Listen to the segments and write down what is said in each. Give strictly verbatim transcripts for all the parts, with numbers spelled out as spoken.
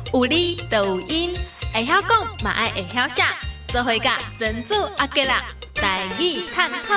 有理就有因，会晓讲嘛爱会晓写，做伙甲珍珠阿吉啦，台语探讨。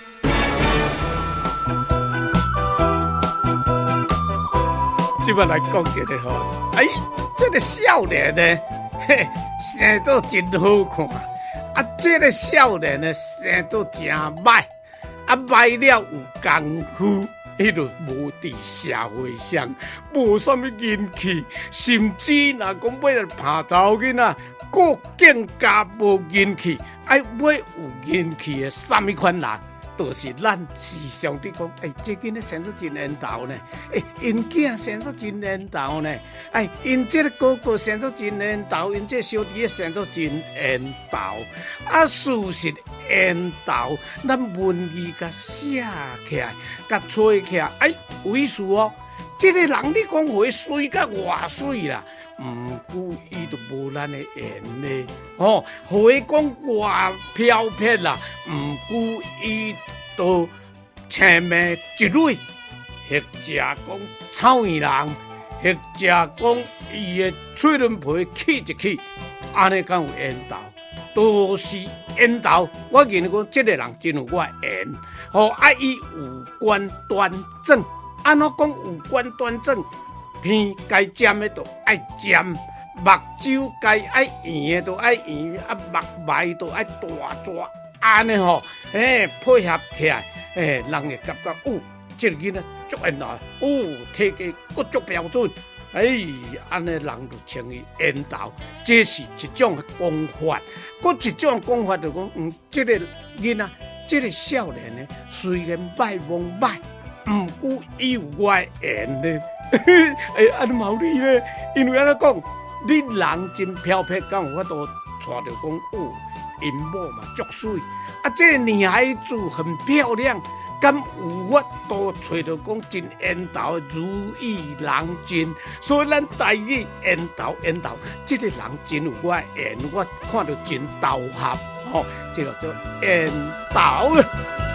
即摆来讲一个吼，哎，这个少年呢，嘿，生做真好看，啊，这个少年呢，生做真歹，啊，歹了有功夫。伊就无伫社会上无啥物人气，甚至若讲要来拍查某囡仔，个更加无人气。爱要有人气的啥物款人，就是咱时常伫讲，哎，这囡仔生得真缘投呢，哎，因囝生得真缘投呢，哎，因这个哥哥生得真缘投，因这小弟生得真缘投。啊，事实缘投，咱文字甲写起来，甲吹起来，哎，有意思哦。这个人你讲话水甲偌水啦，毋过伊就无咱的缘呢。哦，话讲偌飘撇啦，毋过伊都前面一类，或者讲草原人，或者讲伊的嘴唇皮起一起，安尼敢有缘投？都是缘投，我认为讲这个人真有我缘，吼啊伊五官端正，安怎讲五官端正？鼻该尖的都爱尖，目睭该爱圆的都爱圆，啊目眉都爱大抓，安尼吼，诶配合起来，诶人会感觉哦，这个囡仔足缘投，哦体格佫足标准。哎，安尼人就称伊缘投，这是一种讲法。搁一种讲法就讲，嗯，这个囡仔，这个少年呢，虽然歹罔歹，毋过伊有我的缘呢。哎，安尼毛理呢？因为安尼讲，你人真飘撇，敢有法度带着讲哦，因某嘛足水，啊，这个女孩子很漂亮。敢有法度找到讲真缘投如意郎君，所以咱台语缘投缘投，这个人真有我缘，我看到真投合，吼、哦，这个叫缘投。